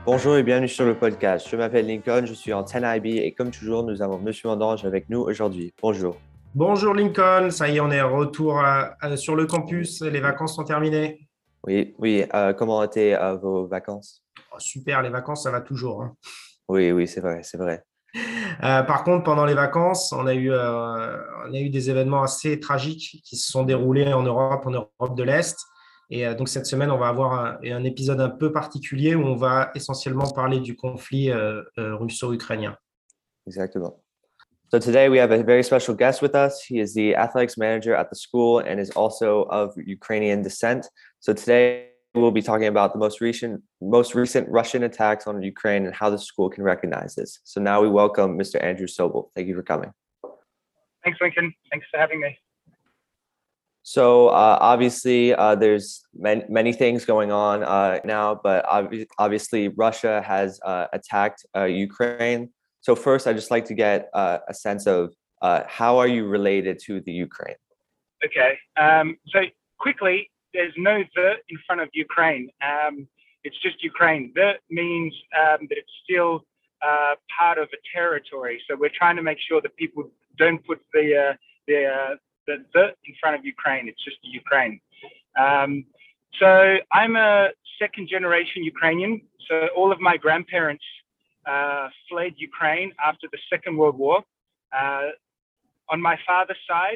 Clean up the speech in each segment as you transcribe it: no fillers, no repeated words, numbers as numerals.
Bonjour et bienvenue sur le podcast. Je m'appelle Lincoln, je suis en 10IB et comme toujours, nous avons Monsieur Mandange avec nous aujourd'hui. Bonjour. Bonjour Lincoln, ça y est, on est retour sur le campus, les vacances sont terminées. Oui, oui, comment étaient vos vacances? Oh, super, les vacances, ça va toujours, hein. Oui, oui, c'est vrai, c'est vrai. Par contre, pendant les vacances, on a eu des événements assez tragiques qui se sont déroulés en Europe de l'Est. Et donc cette semaine, on va avoir un épisode un peu particulier où on va essentiellement parler du conflit russo-ukrainien. Exactement. So today we have a very special guest with us. He is the athletics manager at the school and is also of Ukrainian descent. So today we'll be talking about the most recent Russian attacks on Ukraine and how the school can recognize this. So now we welcome Mr. Andrew Sobel. Thank you for coming. Thanks, Lincoln. Thanks for having me. So obviously, there's many things going on now, but obviously Russia has attacked Ukraine. So first, I'd just like to get a sense of how are you related to the Ukraine? Okay. So quickly, there's no the in front of Ukraine. It's just Ukraine. The means that it's still part of a territory. So we're trying to make sure that people don't put the in front of Ukraine. It's just Ukraine. So I'm a second generation Ukrainian. So all of my grandparents fled Ukraine after the Second World War. On my father's side,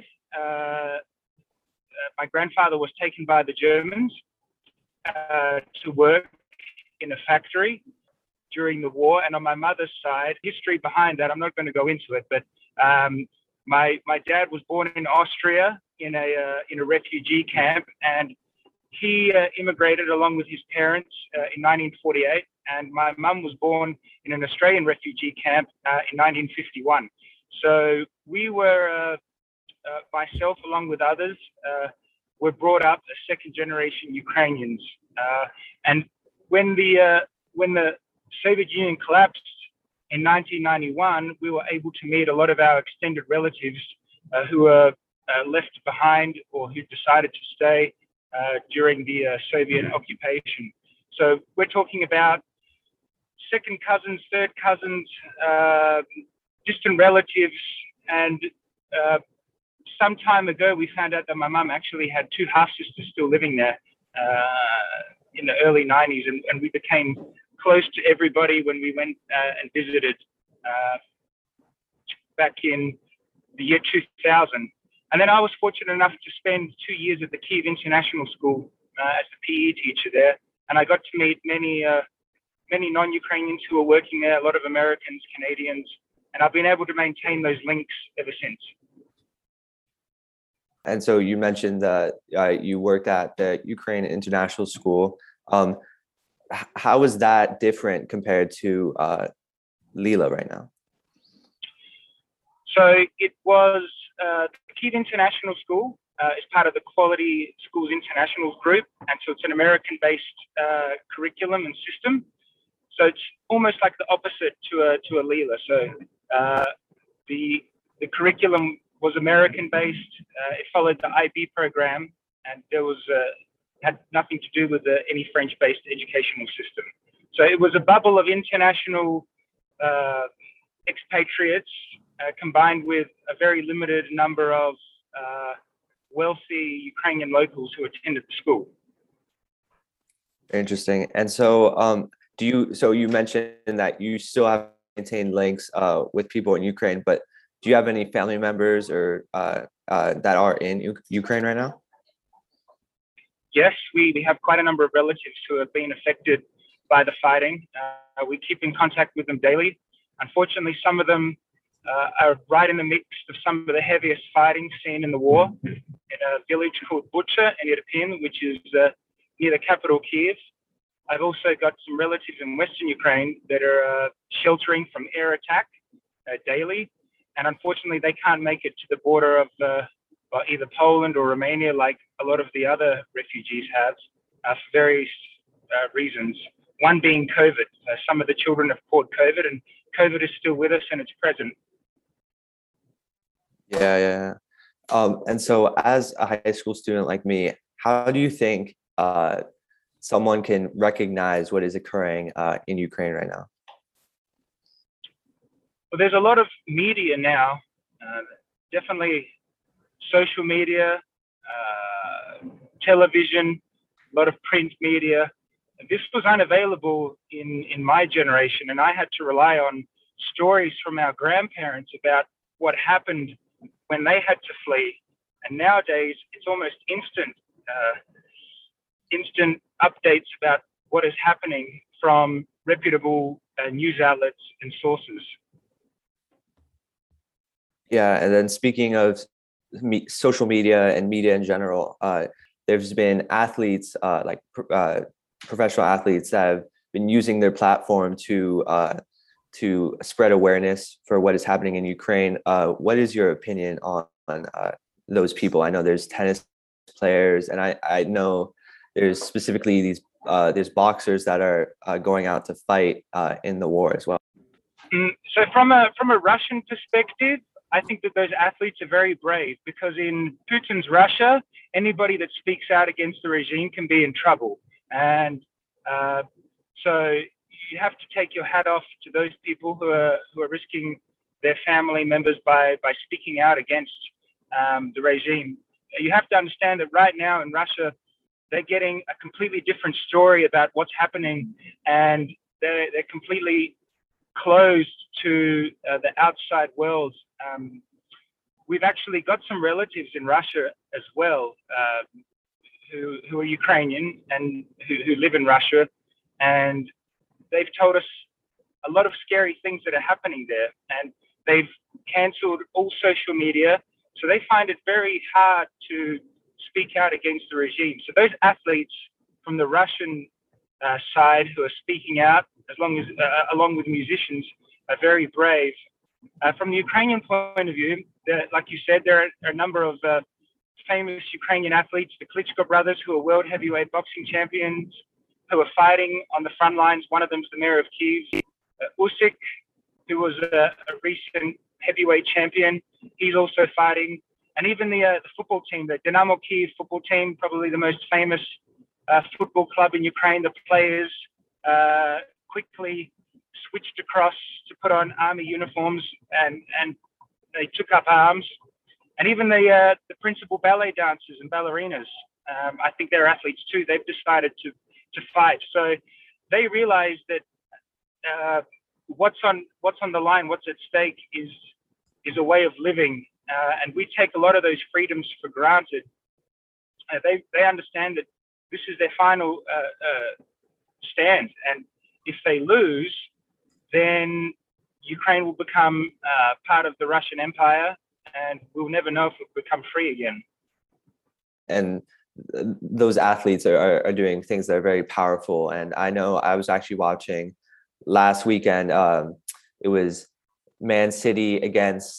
my grandfather was taken by the Germans to work in a factory during the war. And on my mother's side, history behind that, I'm not going to go into it, but my dad was born in Austria in a refugee camp, and he immigrated along with his parents in 1948. And my mum was born in an Australian refugee camp in 1951. So we were, myself along with others, were brought up as second generation Ukrainians. And when the Soviet Union collapsed in 1991, we were able to meet a lot of our extended relatives who were left behind or who decided to stay during the Soviet occupation. So we're talking about second cousins, third cousins, distant relatives. And some time ago, we found out that my mum actually had two half-sisters still living there in the early 90s. And we became close to everybody when we went and visited back in the year 2000. And then I was fortunate enough to spend 2 years at the Kyiv International School as the PE teacher there. And I got to meet many non-Ukrainians who are working there, a lot of Americans, Canadians, and I've been able to maintain those links ever since. And so you mentioned that you worked at the Ukraine International School. How is that different compared to Lila right now? So it was the Kyiv International School is part of the Quality Schools International Group, and so it's an American-based curriculum and system. So it's almost like the opposite to a Lila. So the curriculum was American-based. It followed the IB program, and there was had nothing to do with any French-based educational system. So it was a bubble of international expatriates combined with a very limited number of wealthy Ukrainian locals who attended the school. Interesting. And so so you mentioned that you still have maintained links with people in Ukraine, but do you have any family members or that are in Ukraine right now? Yes, we have quite a number of relatives who have been affected by the fighting. We keep in contact with them daily. Unfortunately, some of them are right in the mix of some of the heaviest fighting seen in the war in a village called Bucha in Irpin, which is near the capital Kyiv. I've also got some relatives in Western Ukraine that are sheltering from air attack daily. And unfortunately, they can't make it to the border of either Poland or Romania like a lot of the other refugees have for various reasons. One being COVID. Some of the children have caught COVID, and COVID is still with us and it's present. Yeah. And so as a high school student like me, how do you think someone can recognize what is occurring in Ukraine right now? Well, there's a lot of media now, definitely social media, television, a lot of print media. This was unavailable in my generation, and I had to rely on stories from our grandparents about what happened when they had to flee. And nowadays, it's almost instant updates about what is happening from reputable news outlets and sources. Yeah, and then speaking of social media and media in general, there's been athletes professional athletes that have been using their platform to spread awareness for what is happening in Ukraine. What is your opinion on those people? I know there's tennis players, and I know there's specifically these there's boxers that are going out to fight in the war as well. So from a Russian perspective, I think that those athletes are very brave, because in Putin's Russia, anybody that speaks out against the regime can be in trouble. And so you have to take your hat off to those people who are risking their family members by speaking out against the regime. You have to understand that right now in Russia, they're getting a completely different story about what's happening, and they're completely closed to the outside world. We've actually got some relatives in Russia as well, who are Ukrainian and who live in Russia, and they've told us a lot of scary things that are happening there, and they've cancelled all social media, so they find it very hard to speak out against the regime. So those athletes from the Russian side who are speaking out, along with musicians, are very brave. From the Ukrainian point of view, like you said, there are a number of famous Ukrainian athletes, the Klitschko brothers, who are world heavyweight boxing champions, who are fighting on the front lines. One of them is the mayor of Kyiv, Usyk, who was a recent heavyweight champion. He's also fighting. And even the football team, the Dynamo Kyiv football team, probably the most famous football club in Ukraine. The players quickly switched across to put on army uniforms, and they took up arms. And even the principal ballet dancers and ballerinas, I think they're athletes too. They've decided to fight. So they realize that what's on the line, what's at stake is a way of living, and we take a lot of those freedoms for granted. They understand that this is their final stand, and if they lose, then Ukraine will become part of the Russian Empire, and we'll never know if it will become free again. And those athletes are doing things that are very powerful. And I know I was actually watching last weekend. It was Man City against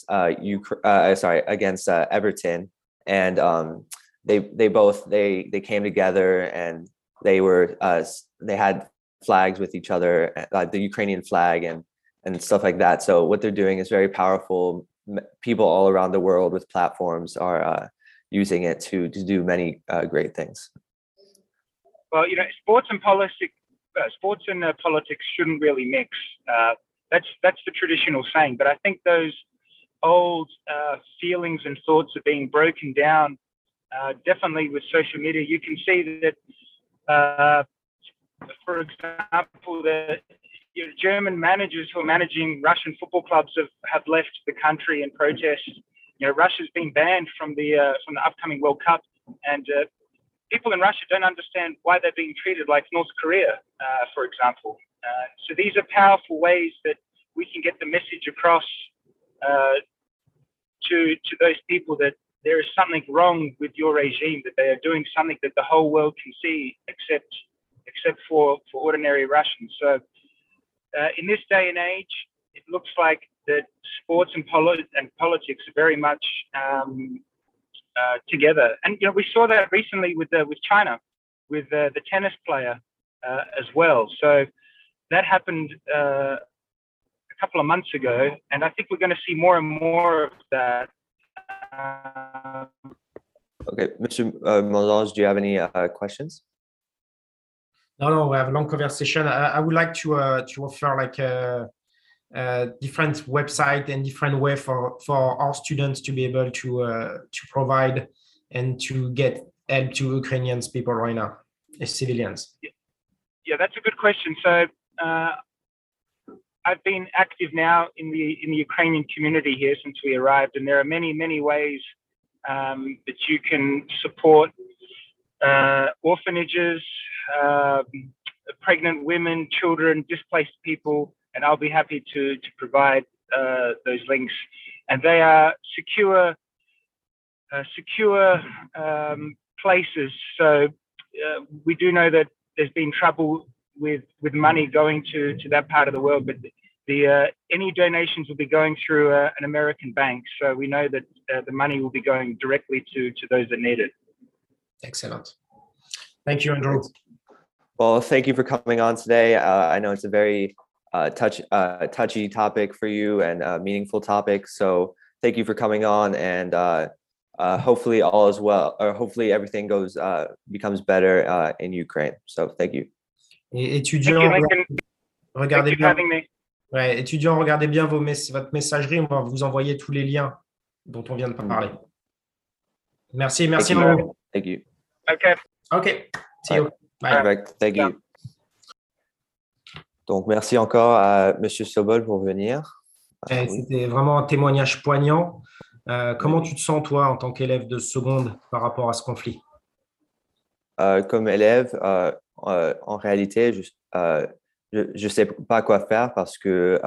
against Everton, and they came together, and they had flags with each other, the Ukrainian flag and stuff like that. So what they're doing is very powerful. People all around the world with platforms are using it to do many great things. Well, sports and politics shouldn't really mix. That's the traditional saying. But I think those old feelings and thoughts are being broken down. Definitely with social media, you can see that. For example, the German managers who are managing Russian football clubs have left the country in protest. Russia's been banned from the upcoming World Cup, and people in Russia don't understand why they're being treated like North Korea, for example. So these are powerful ways that we can get the message across to those people that there is something wrong with your regime, that they are doing something that the whole world can see, except for ordinary Russians. So in this day and age, it looks like that sports and politics are very much together. And we saw that recently with China, with the tennis player as well. So that happened a couple of months ago, and I think we're going to see more and more of that. Okay, Mr. Molange, do you have any questions? No, we have a long conversation. I would like to offer like a different website and different way for our students to be able to provide and to get help to Ukrainian people right now, as civilians. Yeah, that's a good question. So I've been active now in the Ukrainian community here since we arrived, and there are many ways that you can support orphanages, pregnant women, children, displaced people, and I'll be happy to provide those links. And they are secure places. So we do know that there's been trouble with money going to that part of the world, but any donations will be going through an American bank. So we know that the money will be going directly to those that need it. Excellent. Thank you, Andrew. Well, thank you for coming on today. I know it's a very touchy topic for you and a meaningful topic. So thank you for coming on, and hopefully all is well, or hopefully everything becomes better in Ukraine. So thank you. Et étudiants, regardez bien. Ouais, étudiants, regardez bien votre messagerie. On va vous envoyer tous les liens dont on vient de parler. Merci, Andrew. Thank you. Okay. See you. Bye. Perfect. Thank you. Donc, merci encore à Monsieur Sobol pour venir. C'était vraiment un témoignage poignant. Comment tu te sens, toi, en tant qu'élève de seconde par rapport à ce conflit? Comme élève, en réalité, je sais pas quoi faire parce que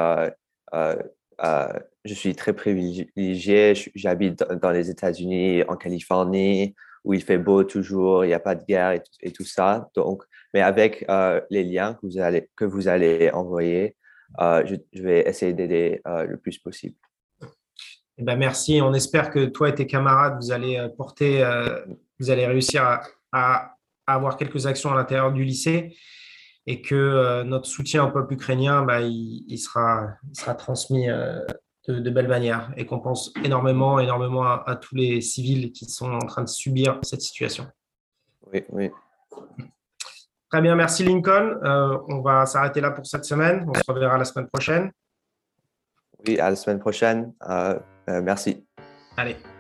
je suis très privilégié. J'habite dans les États-Unis, en Californie, où il fait beau toujours, il n'y a pas de guerre et tout ça. Donc, mais avec les liens que vous allez envoyer, je vais essayer d'aider le plus possible. Eh ben, merci. On espère que toi et tes camarades, vous allez réussir à avoir quelques actions à l'intérieur du lycée, et que notre soutien au peuple ukrainien, il sera transmis de belle manière, et qu'on pense énormément à tous les civils qui sont en train de subir cette situation. Oui. Très bien, merci Lincoln. On va s'arrêter là pour cette semaine. On se reverra la semaine prochaine. Oui, à la semaine prochaine. Merci. Allez.